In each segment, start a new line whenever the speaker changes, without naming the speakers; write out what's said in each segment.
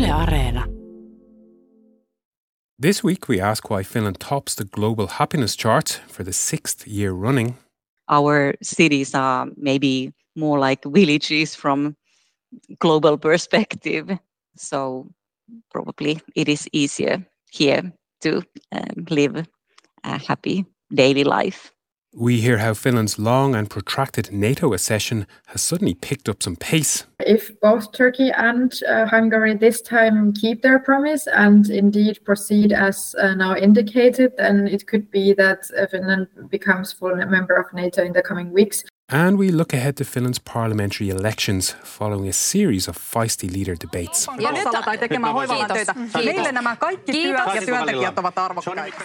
Yle Areena.
This week we ask why Finland tops the global happiness chart for the 6th year running.
Our cities are maybe more like villages from global perspective. So probably it is easier here to live a happy daily life.
We hear how Finland's long and protracted NATO accession has suddenly picked up some pace.
If both Turkey and Hungary this time keep their promise and indeed proceed as now indicated, then it could be that Finland becomes full member of NATO in the coming weeks.
And we look ahead to Finland's parliamentary elections following a series of feisty leader debates.
Ja nyt tekemään hoiva-alan töitä. Meille nämä kaikki työt ja työntekijät ovat arvokkaita.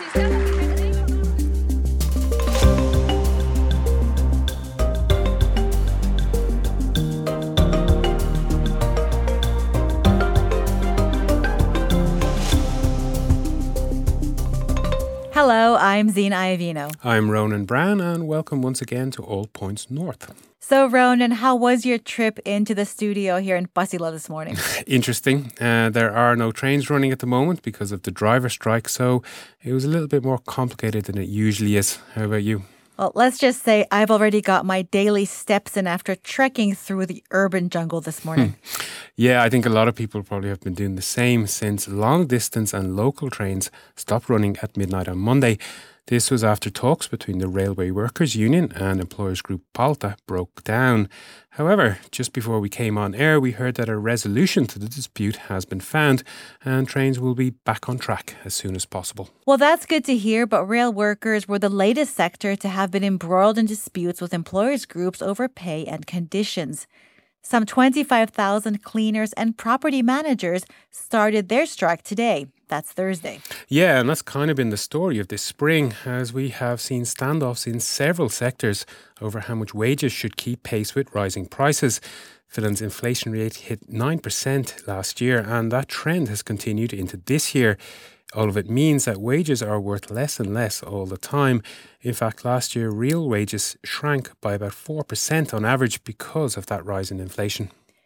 Hello, I'm Zina Iovino.
I'm Ronan Brown, and welcome once again to All Points North.
So, Ronan, how was your trip into the studio here in Pasila this morning?
Interesting. There are no trains running at the moment because of the driver strike, so it was a little bit more complicated than it usually is. How about you?
Well, let's just say I've already got my daily steps in after trekking through the urban jungle this morning.
Yeah, I think a lot of people probably have been doing the same since long distance and local trains stopped running at midnight on Monday. This was after talks between the Railway Workers Union and employers group Palta broke down. However, just before we came on air, we heard that a resolution to the dispute has been found and trains will be back on track as soon as possible.
Well, that's good to hear, but rail workers were the latest sector to have been embroiled in disputes with employers groups over pay and conditions. Some 25,000 cleaners and property managers started their strike today. That's Thursday.
Yeah, and that's kind of been the story of this spring, as we have seen standoffs in several sectors over how much wages should keep pace with rising prices. Finland's inflation rate hit 9% last year, and that trend has continued into this year. All of it means that wages are worth less and less all the time. In fact, last year, real wages shrank by about 4% on average because of that rise in inflation.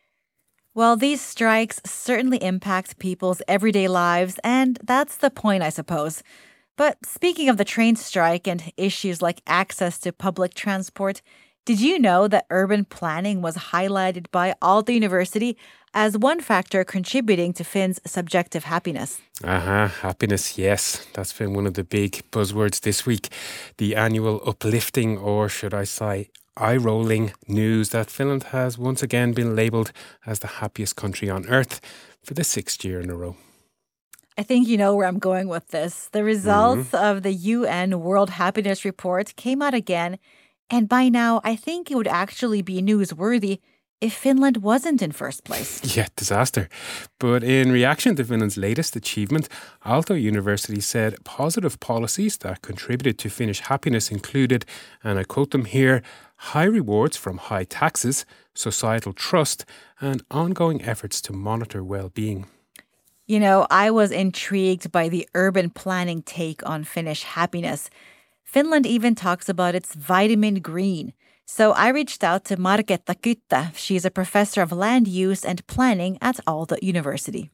Well, these strikes certainly impact people's everyday lives, and that's the point, I suppose. But speaking of the train strike and issues like access to public transport, did you know that urban planning was highlighted by Aalto University as one factor contributing to Finns' subjective happiness?
Happiness, yes. That's been one of the big buzzwords this week. The annual uplifting, or should I say, eye-rolling news that Finland has once again been labelled as the happiest country on earth for the 6th year in a row.
I think you know where I'm going with this. The results of the UN World Happiness Report came out again, and by now I think it would actually be newsworthy if Finland wasn't in first place.
Yeah, disaster. But in reaction to Finland's latest achievement, Aalto University said positive policies that contributed to Finnish happiness included, and I quote them here, high rewards from high taxes, societal trust, and ongoing efforts to monitor well-being.
You know, I was intrigued by the urban planning take on Finnish happiness. Finland even talks about its vitamin green. So I reached out to Marketta Kyttä. She's a professor of land use and planning at Aalto University.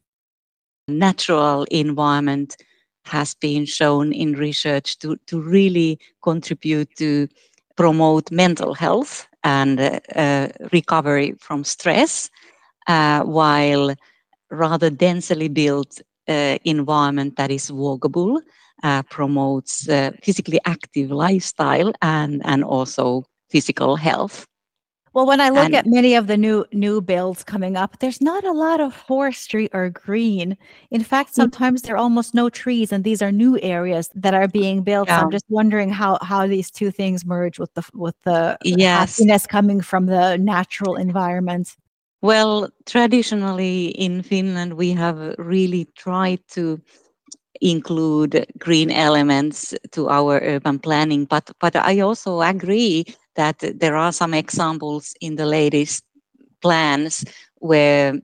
Natural environment has been shown in research to really contribute to promote mental health and recovery from stress, while rather densely built environment that is walkable promotes physically active lifestyle and also physical health.
Well, when I look at many of the new builds coming up, there's not a lot of forestry or green. In fact, sometimes there are almost no trees, and these are new areas that are being built. Yeah. So I'm just wondering how these two things merge with the happiness coming from the natural environment.
Well, traditionally in Finland, we have really tried to include green elements to our urban planning, but I also agree that there are some examples in the latest plans where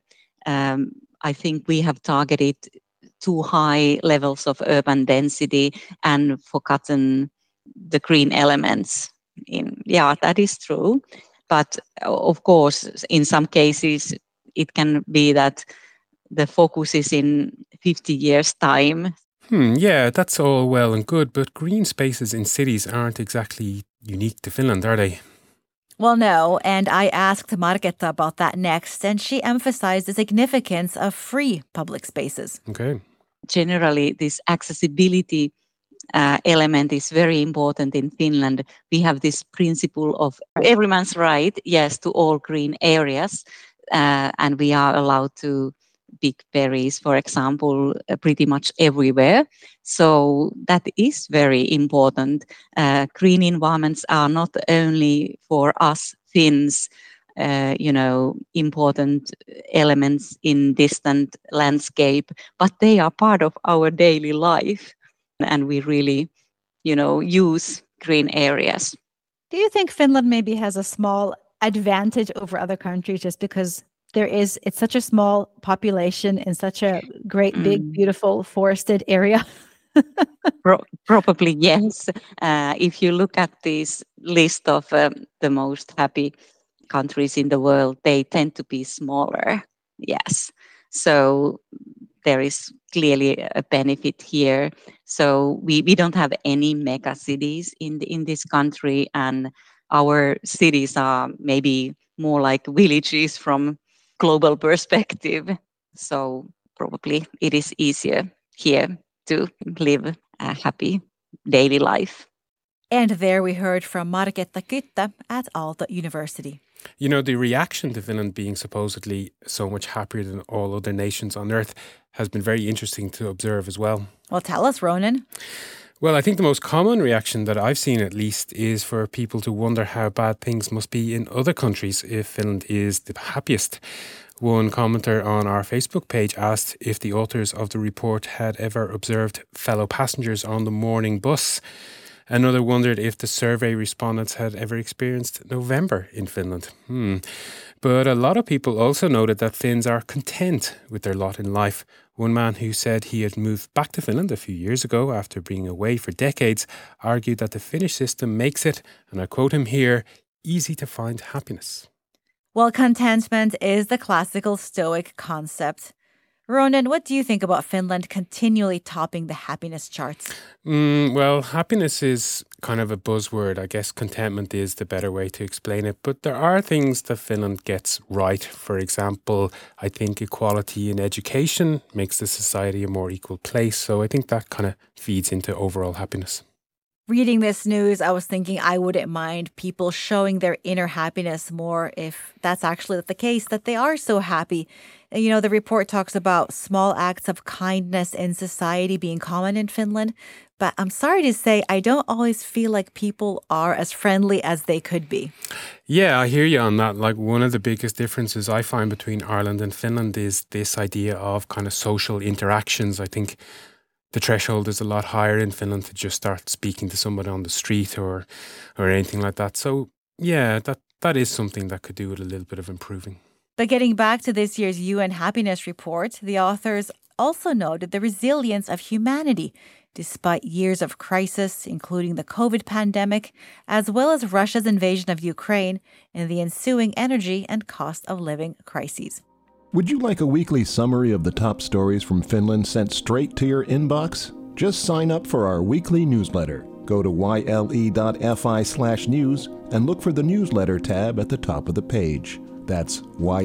I think we have targeted too high levels of urban density and forgotten the green elements. That is true. But of course, in some cases, it can be that the focus is in 50 years' time.
Yeah, that's all well and good, but green spaces in cities aren't exactly unique to Finland, are they?
Well, no, and I asked Marketta about that next, and she emphasized the significance of free public spaces.
Okay.
Generally, this accessibility element is very important in Finland. We have this principle of everyone's right, yes, to all green areas, and we are allowed to pick berries, for example, pretty much everywhere. So that is very important. Green environments are not only for us Finns, important elements in distant landscape, but they are part of our daily life. And we really, use green areas.
Do you think Finland maybe has a small advantage over other countries just because it's such a small population in such a great, big, beautiful forested area?
Probably, yes. If you look at this list of the most happy countries in the world, they tend to be smaller. Yes. So there is clearly a benefit here. So we don't have any mega cities in this country, and our cities are maybe more like villages from global perspective. So probably it is easier here to live a happy daily life.
And there we heard from Marketta Kyttä at Aalto University.
The reaction to Finland being supposedly so much happier than all other nations on earth has been very interesting to observe as well.
Well, tell us, Ronan.
Well, I think the most common reaction that I've seen, at least, is for people to wonder how bad things must be in other countries if Finland is the happiest. One commenter on our Facebook page asked if the authors of the report had ever observed fellow passengers on the morning bus. Another wondered if the survey respondents had ever experienced November in Finland. But a lot of people also noted that Finns are content with their lot in life. One man who said he had moved back to Finland a few years ago after being away for decades argued that the Finnish system makes it, and I quote him here, easy to find happiness.
Well, contentment is the classical Stoic concept. Ronan, what do you think about Finland continually topping the happiness charts?
Well, happiness is kind of a buzzword. I guess contentment is the better way to explain it. But there are things that Finland gets right. For example, I think equality in education makes the society a more equal place. So I think that kind of feeds into overall happiness.
Reading this news, I was thinking I wouldn't mind people showing their inner happiness more if that's actually the case, that they are so happy. The report talks about small acts of kindness in society being common in Finland. But I'm sorry to say, I don't always feel like people are as friendly as they could be.
Yeah, I hear you on that. Like, one of the biggest differences I find between Ireland and Finland is this idea of kind of social interactions. I think the threshold is a lot higher in Finland to just start speaking to somebody on the street or anything like that. So, yeah, that is something that could do with a little bit of improving.
But getting back to this year's UN Happiness Report, the authors also noted the resilience of humanity despite years of crisis, including the COVID pandemic, as well as Russia's invasion of Ukraine and the ensuing energy and cost of living crises.
Would you like a weekly summary of the top stories from Finland sent straight to your inbox? Just sign up for our weekly newsletter. Go to yle.fi/news and look for the newsletter tab at the top of the page. That's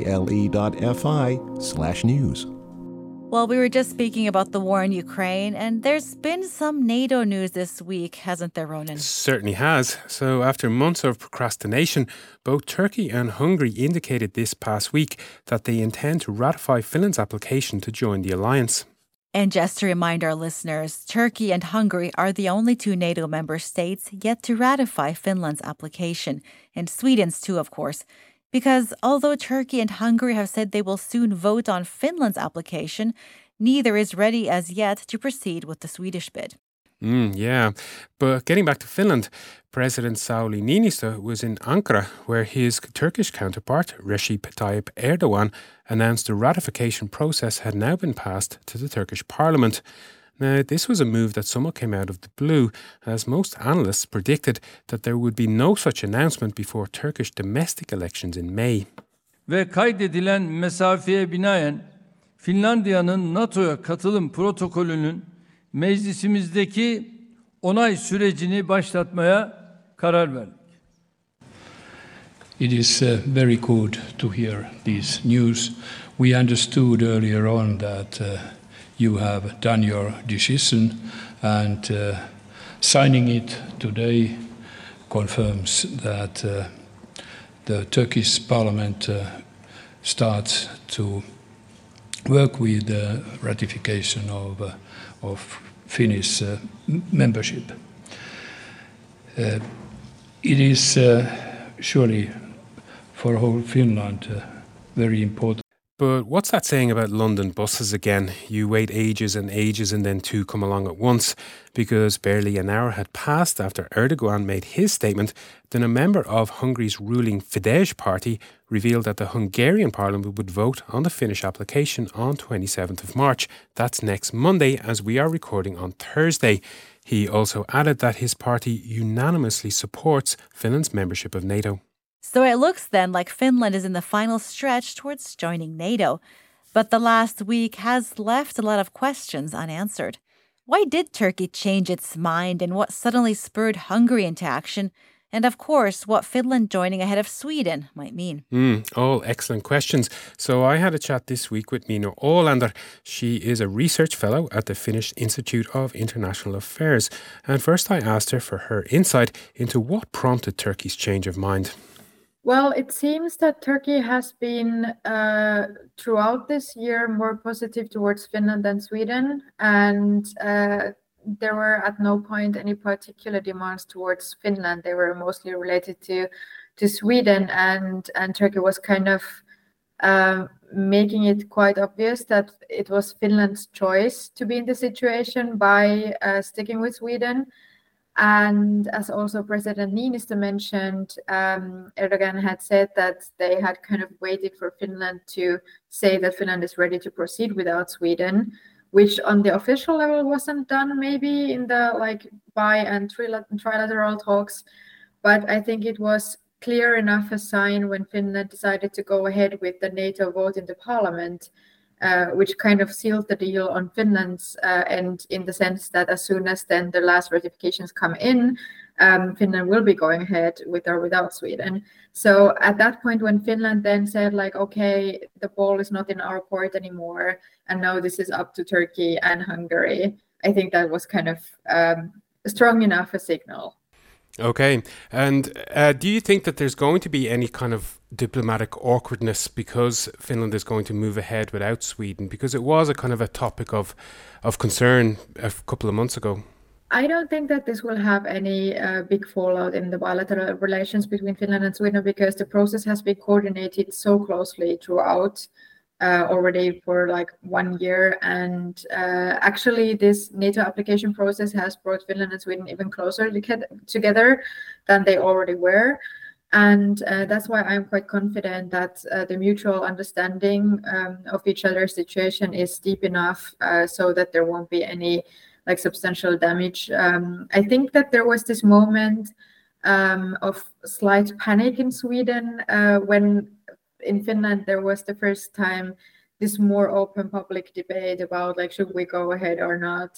yle.fi/news.
Well, we were just speaking about the war in Ukraine, and there's been some NATO news this week, hasn't there, Ronan?
Certainly has. So after months of procrastination, both Turkey and Hungary indicated this past week that they intend to ratify Finland's application to join the alliance.
And just to remind our listeners, Turkey and Hungary are the only two NATO member states yet to ratify Finland's application, and Sweden's too, of course. Because although Turkey and Hungary have said they will soon vote on Finland's application, neither is ready as yet to proceed with the Swedish bid.
Yeah, but getting back to Finland, President Sauli Niinistö was in Ankara, where his Turkish counterpart, Recep Tayyip Erdogan, announced the ratification process had now been passed to the Turkish parliament. Now, this was a move that somewhat came out of the blue, as most analysts predicted that there would be no such announcement before Turkish domestic elections in May.
Ve kaydedilen mesafeye binaen Finlandiya'nın NATO'ya katılım protokolünün meclisimizdeki onay sürecini başlatmaya karar verdik.
It is very good to hear this news. We understood earlier on that you have done your decision, and signing it today confirms that the Turkish parliament starts to work with the ratification of Finnish membership. It is surely for whole Finland very important.
But what's that saying about London buses again? You wait ages and ages and then two come along at once. Because barely an hour had passed after Erdogan made his statement, then a member of Hungary's ruling Fidesz party revealed that the Hungarian parliament would vote on the Finnish application on 27th of March. That's next Monday, as we are recording on Thursday. He also added that his party unanimously supports Finland's membership of NATO.
So it looks then like Finland is in the final stretch towards joining NATO. But the last week has left a lot of questions unanswered. Why did Turkey change its mind, and what suddenly spurred Hungary into action? And of course, what Finland joining ahead of Sweden might mean.
All excellent questions. So I had a chat this week with Minna Olander. She is a research fellow at the Finnish Institute of International Affairs. And first I asked her for her insight into what prompted Turkey's change of mind.
Well, it seems that Turkey has been throughout this year more positive towards Finland than Sweden, and there were at no point any particular demands towards Finland. They were mostly related to Sweden, and Turkey was kind of making it quite obvious that it was Finland's choice to be in the situation by sticking with Sweden. And as also President Niinistö mentioned, Erdogan had said that they had kind of waited for Finland to say that Finland is ready to proceed without Sweden, which on the official level wasn't done maybe in the bi and trilateral talks. But I think it was clear enough a sign when Finland decided to go ahead with the NATO vote in the parliament, which kind of sealed the deal on Finland's end, in the sense that as soon as then the last ratifications come in, Finland will be going ahead with or without Sweden. So at that point, when Finland then said okay, the ball is not in our court anymore, and now this is up to Turkey and Hungary, I think that was kind of strong enough a signal.
Okay. And do you think that there's going to be any kind of diplomatic awkwardness because Finland is going to move ahead without Sweden? Because it was a kind of a topic of concern a couple of months ago.
I don't think that this will have any big fallout in the bilateral relations between Finland and Sweden, because the process has been coordinated so closely throughout already for 1 year. And actually, this NATO application process has brought Finland and Sweden even closer together than they already were. And that's why I'm quite confident that the mutual understanding of each other's situation is deep enough so that there won't be any substantial damage. I think that there was this moment of slight panic in Sweden when in Finland there was the first time this more open public debate about should we go ahead or not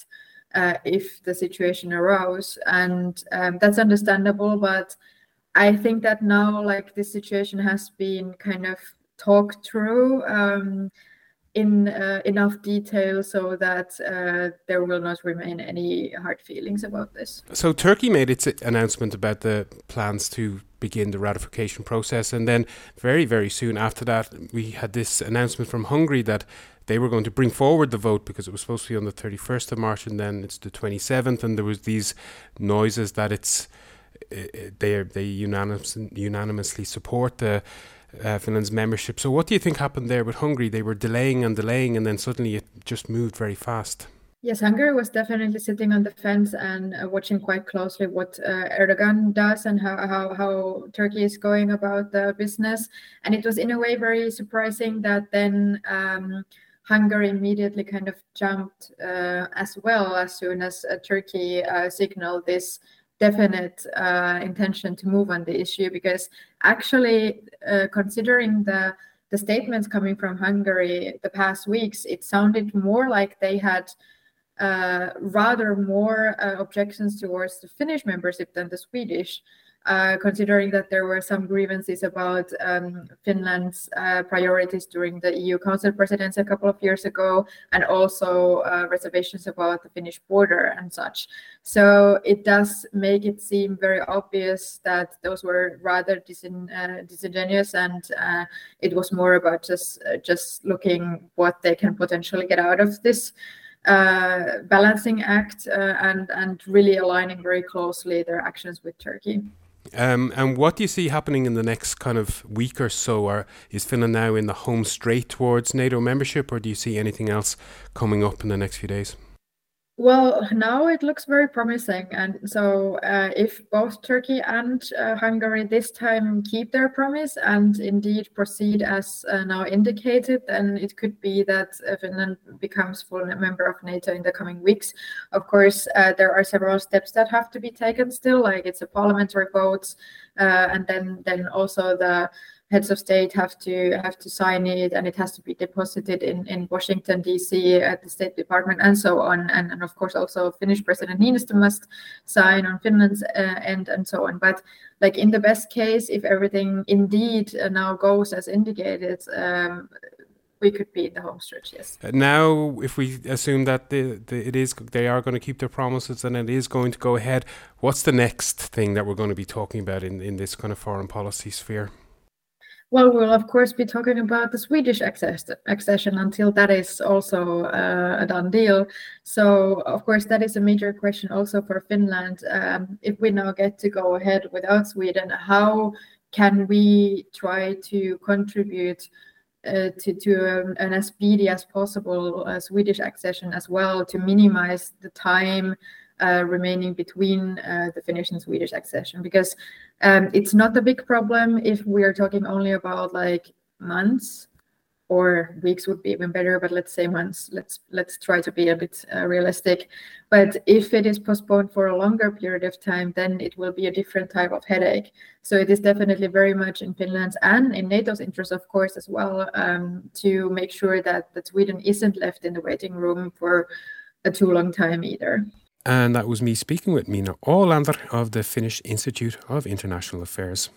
if the situation arose. And that's understandable, but I think that now this situation has been kind of talked through in enough detail so that there will not remain any hard feelings about this.
So Turkey made its announcement about the plans to begin the ratification process, and then very, very soon after that we had this announcement from Hungary that they were going to bring forward the vote because it was supposed to be on the 31st of March and then it's the 27th, and there was these noises that they unanimously support the Finland's membership. So what do you think happened there with Hungary? They were delaying and delaying, and then suddenly it just moved very fast.
Yes, Hungary was definitely sitting on the fence and watching quite closely what Erdogan does and how Turkey is going about the business. And it was in a way very surprising that then Hungary immediately kind of jumped as well as soon as Turkey signaled this definite intention to move on the issue, because actually considering the the statements coming from Hungary the past weeks, it sounded more like they had rather more objections towards the Finnish membership than the Swedish. Considering that there were some grievances about Finland's priorities during the EU Council presidency a couple of years ago, and also reservations about the Finnish border and such. So it does make it seem very obvious that those were rather disingenuous, and it was more about just looking what they can potentially get out of this balancing act and really aligning very closely their actions with Turkey.
And what do you see happening in the next kind of week or so? Or is Finland now in the home straight towards NATO membership, or do you see anything else coming up in the next few days?
Well, now it looks very promising. And so if both Turkey and Hungary this time keep their promise and indeed proceed as now indicated, then it could be that Finland becomes full member of NATO in the coming weeks. Of course, there are several steps that have to be taken still, like it's a parliamentary vote, and then also the heads of state have to sign it, and it has to be deposited in Washington D.C. at the State Department, and so on. And of course, also Finnish President Niinistö must sign on Finland's end, and so on. But like in the best case, if everything indeed now goes as indicated, we could be in the home stretch. Yes.
Now, if we assume that they are going to keep their promises and it is going to go ahead, what's the next thing that we're going to be talking about in this kind of foreign policy sphere?
Well, we'll of course be talking about the Swedish accession until that is also a done deal. So, of course, that is a major question also for Finland. If we now get to go ahead without Sweden, how can we try to contribute to an as speedy as possible Swedish accession as well, to minimize the time remaining between the Finnish and Swedish accession, because it's not a big problem if we are talking only about like months, or weeks would be even better, but let's say months. Let's try to be a bit realistic. But if it is postponed for a longer period of time, then it will be a different type of headache. So it is definitely very much in Finland's and in NATO's interest, of course, as well, to make sure that Sweden isn't left in the waiting room for a too long time either.
And that was me speaking with Minna Ålander of the Finnish Institute of International Affairs.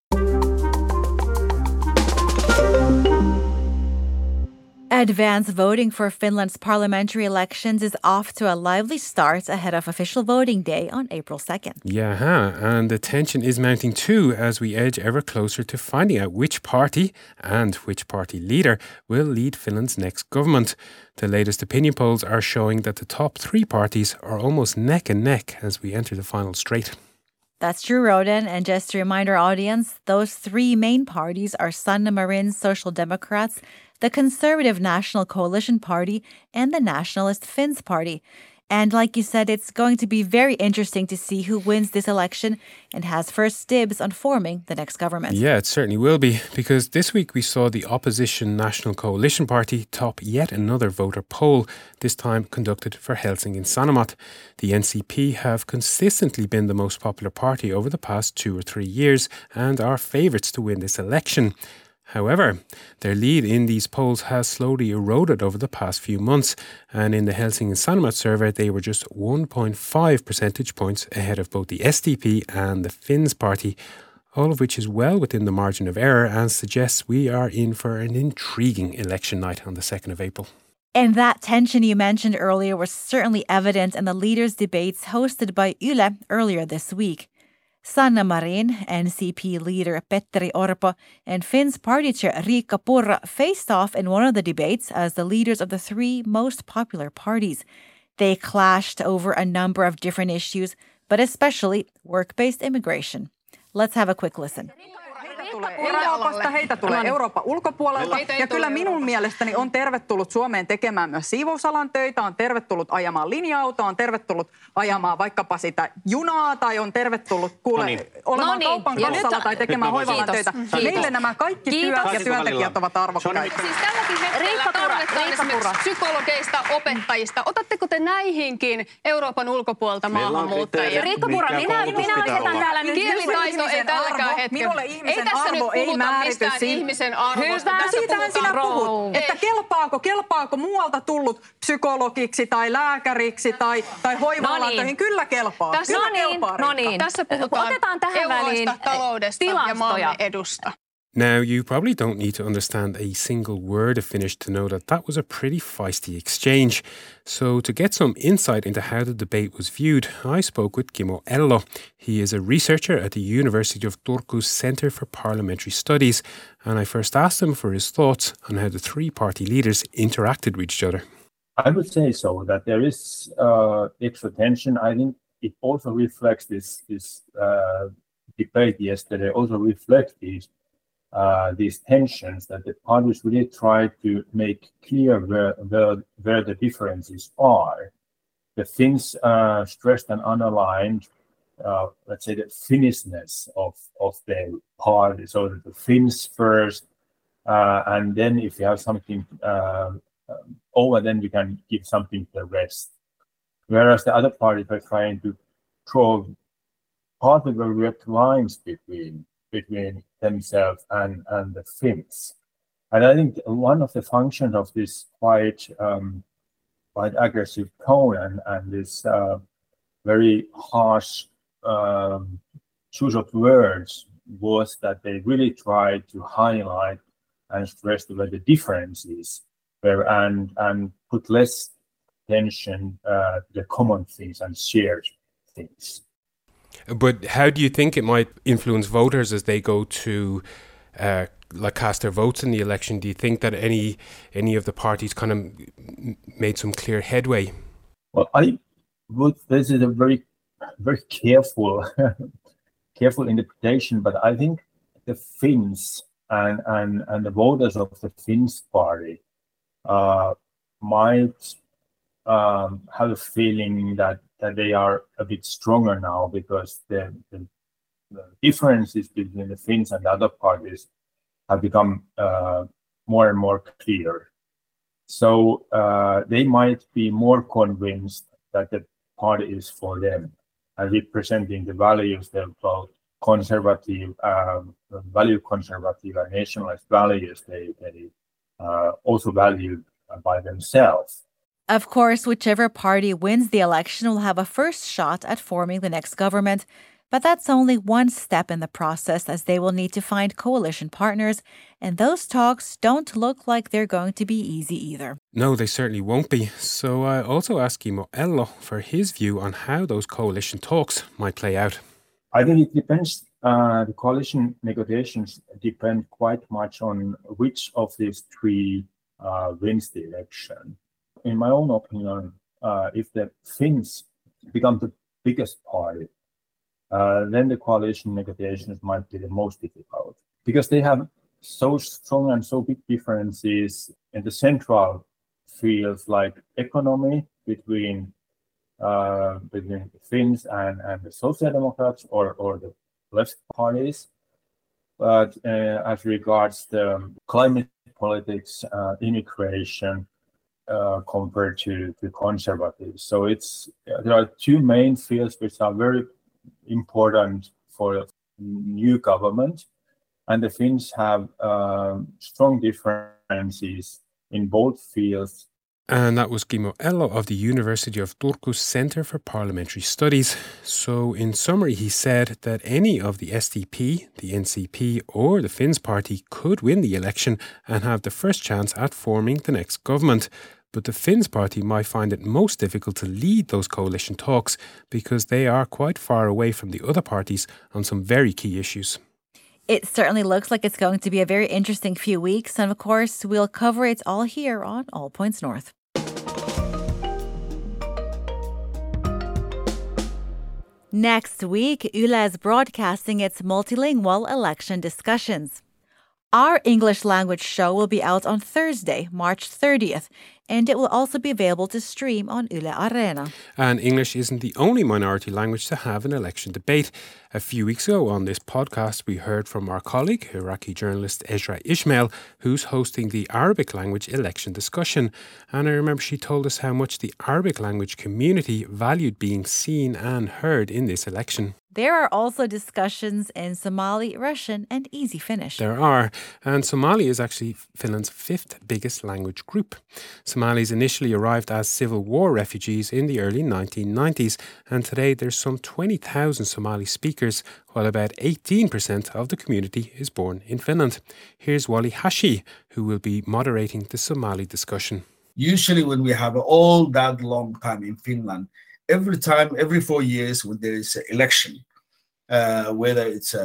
Advance voting for Finland's parliamentary elections is off to a lively start ahead of official voting day on April 2nd.
Yeah, and the tension is mounting too as we edge ever closer to finding out which party and which party leader will lead Finland's next government. The latest opinion polls are showing that the top three parties are almost neck and neck as we enter the final straight.
That's true, Roden. And just to remind our audience, those three main parties are Sanna Marin's Social Democrats, the Conservative National Coalition Party, and the Nationalist Finns Party. And like you said, it's going to be very interesting to see who wins this election and has first dibs on forming the next government.
Yeah, it certainly will be, because this week we saw the opposition National Coalition Party top yet another voter poll, this time conducted for Helsingin Sanomat. The NCP have consistently been the most popular party over the past 2 or 3 years and are favourites to win this election. However, their lead in these polls has slowly eroded over the past few months, and in the Helsingin Sanomat survey they were just 1.5 percentage points ahead of both the SDP and the Finns Party, all of which is well within the margin of error and suggests we are in for an intriguing election night on the 2nd of April.
And that tension you mentioned earlier was certainly evident in the leaders' debates hosted by Yle earlier this week. Sanna Marin, NCP leader Petteri Orpo, and Finns party chair Riikka Purra faced off in one of the debates as the leaders of the three most popular parties. They clashed over a number of different issues, but especially work-based immigration. Let's have a quick listen.
Euroopasta, heitä tulee Euroopan ulkopuolelta. Ja kyllä minun mielestäni on tervetullut Suomeen tekemään myös siivousalan töitä, on tervetullut ajamaan linja-autoa, on tervetullut ajamaan vaikkapa sitä junaa, tai on tervetullut olemaan kaupan kassalla tai tekemään hoiva-alan töitä. Meille nämä kaikki työt ja työntekijät ovat arvokkaita.
Siis tälläkin hetkellä tarvitaan esimerkiksi psykologeista, opettajista. Otatteko te näihinkin Euroopan ulkopuolelta maahanmuuttajia?
Riikka Purra, minä asetan täällä nyt
kielitaito ei tälläkään hetkellä.
Minulle ihmisen arvo ei määrity
ihmisen arvosta. Tässä
siitähän sinä puhut, että kelpaako muualta tullut psykologiksi tai lääkäriksi tai hoiva-alan töihin. Kyllä kelpaa.
Tässä puhutaan euroista, taloudesta ja maamme edusta.
Now, you probably don't need to understand a single word of Finnish to know that was a pretty feisty exchange. So to get some insight into how the debate was viewed, I spoke with Kimmo Ello. He is a researcher at the University of Turku's Centre for Parliamentary Studies, and I first asked him for his thoughts on how the three party leaders interacted with each other.
I would say so, that there is extra tension. I think it also reflects this debate yesterday, also reflects these tensions, that the parties really try to make clear where the differences are. The Finns stressed and underlined, let's say, the Finnishness of their party, so that the Finns first, and then if you have something over, then we can give something to the rest. Whereas the other parties are trying to draw partly very red lines between themselves and the Finns. And I think one of the functions of this quite aggressive tone and this very harsh choice of words was that they really tried to highlight and stress where the differences were and put less attention to the common things and shared things.
But how do you think it might influence voters as they go to cast their votes in the election? Do you think that any of the parties kind of made some clear headway?
Well, this is a very, very careful interpretation, but I think the Finns and the voters of the Finns party might have a feeling that they are a bit stronger now, because the differences between the Finns and the other parties have become more and more clear. So they might be more convinced that the party is for them and representing the values they're about conservative, value-conservative and nationalist values they also value by themselves.
Of course, whichever party wins the election will have a first shot at forming the next government, but that's only one step in the process, as they will need to find coalition partners, and those talks don't look like they're going to be easy either.
No, they certainly won't be. So I also asked Kimmo Ello for his view on how those coalition talks might play out.
I think it depends. The coalition negotiations depend quite much on which of these three wins the election. In my own opinion, if the Finns become the biggest party, then the coalition negotiations might be the most difficult, because they have so strong and so big differences in the central fields like economy between Finns and the Social Democrats or the left parties. But as regards the climate politics, immigration, compared to conservatives. So there are two main fields which are very important for a new government, and the Finns have strong differences in both fields.
And that was Kimmo Ello of the University of Turku's Centre for Parliamentary Studies. So in summary, he said that any of the SDP, the NCP or the Finns party could win the election and have the first chance at forming the next government. But the Finns party might find it most difficult to lead those coalition talks because they are quite far away from the other parties on some very key issues.
It certainly looks like it's going to be a very interesting few weeks, and of course, we'll cover it all here on All Points North. Next week, Yle is broadcasting its multilingual election discussions. Our English language show will be out on Thursday, March 30th, and it will also be available to stream on Yle Areena.
And English isn't the only minority language to have an election debate. A few weeks ago on this podcast, we heard from our colleague, Iraqi journalist Ezra Ismail, who's hosting the Arabic language election discussion. And I remember she told us how much the Arabic language community valued being seen and heard in this election.
There are also discussions in Somali, Russian, and Easy Finnish.
There are, and Somali is actually Finland's fifth biggest language group. Somalis initially arrived as Civil War refugees in the early 1990s, and today there's some 20,000 Somali speakers, while about 18% of the community is born in Finland. Here's Wali Hashi, who will be moderating the Somali discussion.
Usually when we have all that long time in Finland, every 4 years when there is an election, whether it's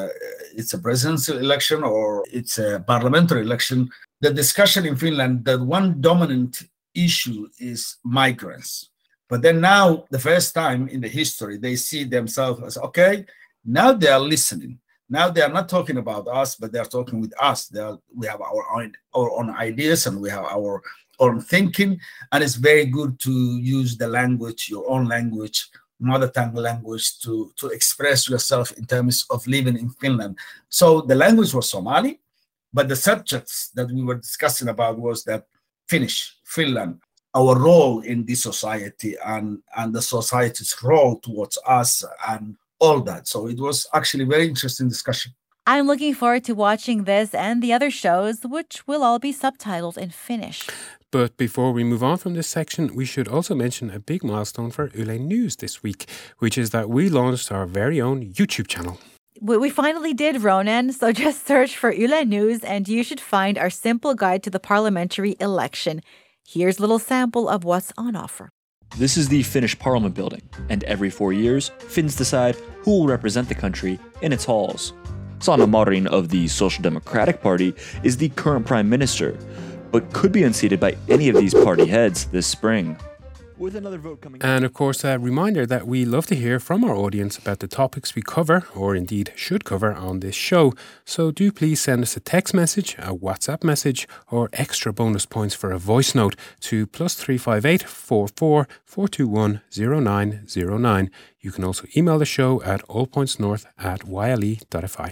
a presidential election or it's a parliamentary election, the discussion in Finland, the one dominant issue is migrants. But then now, the first time in the history, they see themselves as, okay, now they are listening. Now they are not talking about us, but they are talking with us. We have our own ideas and we have our own thinking, and it's very good to use the language, your own language, mother tongue language, to express yourself in terms of living in Finland. So the language was Somali, but the subjects that we were discussing about was that Finnish, Finland, our role in this society and the society's role towards us and all that. So it was actually a very interesting discussion.
I'm looking forward to watching this and the other shows, which will all be subtitled in Finnish.
But before we move on from this section, we should also mention a big milestone for Yle News this week, which is that we launched our very own YouTube channel.
We finally did, Ronan, so just search for Yle News and you should find our simple guide to the parliamentary election. Here's a little sample of what's on offer.
This is the Finnish Parliament building, and every 4 years, Finns decide who will represent the country in its halls. Sanna Marin of the Social Democratic Party is the current Prime Minister, but could be unseated by any of these party heads this spring. With another vote coming
And of course, a reminder that we love to hear from our audience about the topics we cover, or indeed should cover on this show. So do please send us a text message, a WhatsApp message, or extra bonus points for a voice note to +358 44 421 0909. You can also email the show at allpointsnorth@yle.fi.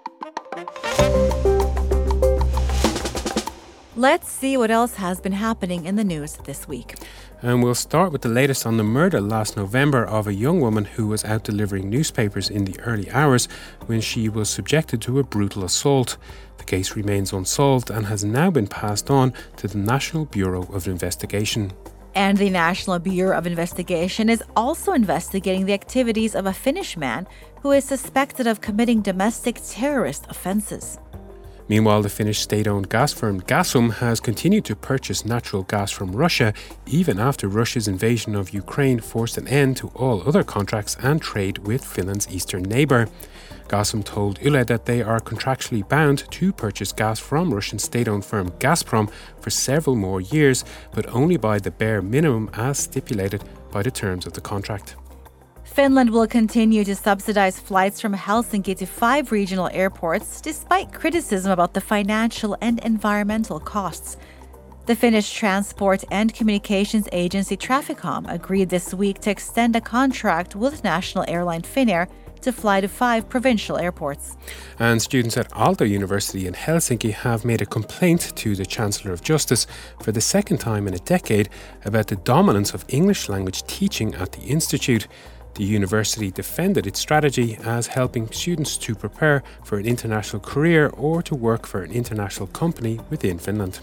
Let's see what else has been happening in the news this week.
And we'll start with the latest on the murder last November of a young woman who was out delivering newspapers in the early hours when she was subjected to a brutal assault. The case remains unsolved and has now been passed on to the National Bureau of Investigation.
And the National Bureau of Investigation is also investigating the activities of a Finnish man who is suspected of committing domestic terrorist offences.
Meanwhile, the Finnish state-owned gas firm Gasum has continued to purchase natural gas from Russia, even after Russia's invasion of Ukraine forced an end to all other contracts and trade with Finland's eastern neighbour. Gasum told Yle that they are contractually bound to purchase gas from Russian state-owned firm Gazprom for several more years, but only by the bare minimum as stipulated by the terms of the contract.
Finland will continue to subsidize flights from Helsinki to 5 regional airports, despite criticism about the financial and environmental costs. The Finnish Transport and Communications Agency Traficom agreed this week to extend a contract with national airline Finnair to fly to 5 provincial airports.
And students at Aalto University in Helsinki have made a complaint to the Chancellor of Justice for the second time in a decade about the dominance of English language teaching at the institute. The university defended its strategy as helping students to prepare for an international career or to work for an international company within Finland.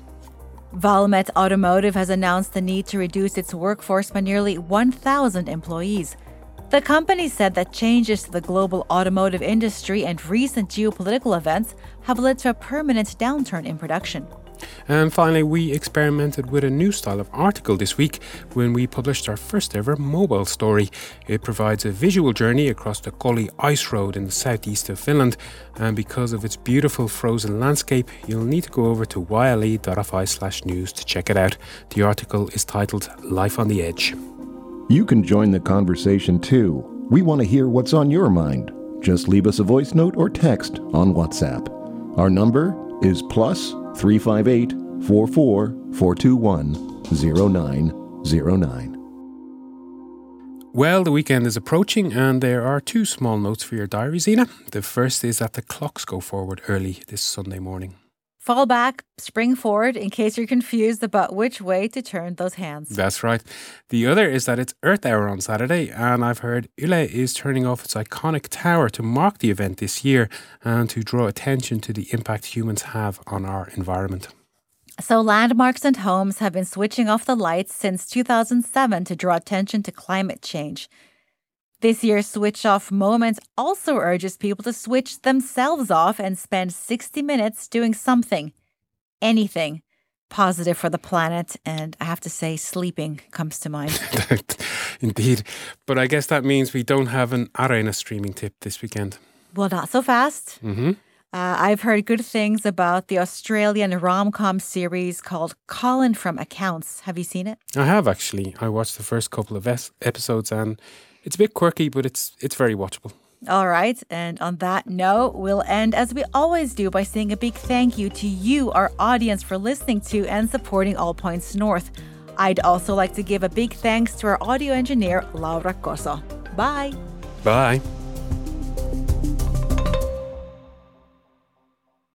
Valmet Automotive has announced the need to reduce its workforce by nearly 1,000 employees. The company said that changes to the global automotive industry and recent geopolitical events have led to a permanent downturn in production.
And finally, we experimented with a new style of article this week when we published our first ever mobile story. It provides a visual journey across the Koli ice road in the southeast of Finland, and because of its beautiful frozen landscape, you'll need to go over to yle.fi/news to check it out. The article is titled Life on the Edge.
You can join the conversation too. We want to hear what's on your mind. Just leave us a voice note or text on WhatsApp. Our number is +358 44 421 0909.
Well, the weekend is approaching and there are two small notes for your diary, Zina. The first is that the clocks go forward early this Sunday morning.
Fall back, spring forward, in case you're confused about which way to turn those hands.
That's right. The other is that it's Earth Hour on Saturday, and I've heard Yle is turning off its iconic tower to mark the event this year and to draw attention to the impact humans have on our environment.
So landmarks and homes have been switching off the lights since 2007 to draw attention to climate change. This year's Switch Off moment also urges people to switch themselves off and spend 60 minutes doing something, anything, positive for the planet. And I have to say, sleeping comes to mind.
Indeed. But I guess that means we don't have an Areena streaming tip this weekend.
Well, not so fast.
Mm-hmm.
I've heard good things about the Australian rom-com series called Colin from Accounts. Have you seen it?
I have, actually. I watched the first couple of episodes and it's a bit quirky, but it's very watchable.
All right. And on that note, we'll end as we always do by saying a big thank you to you, our audience, for listening to and supporting All Points North. I'd also like to give a big thanks to our audio engineer, Laura Koso. Bye.
Bye.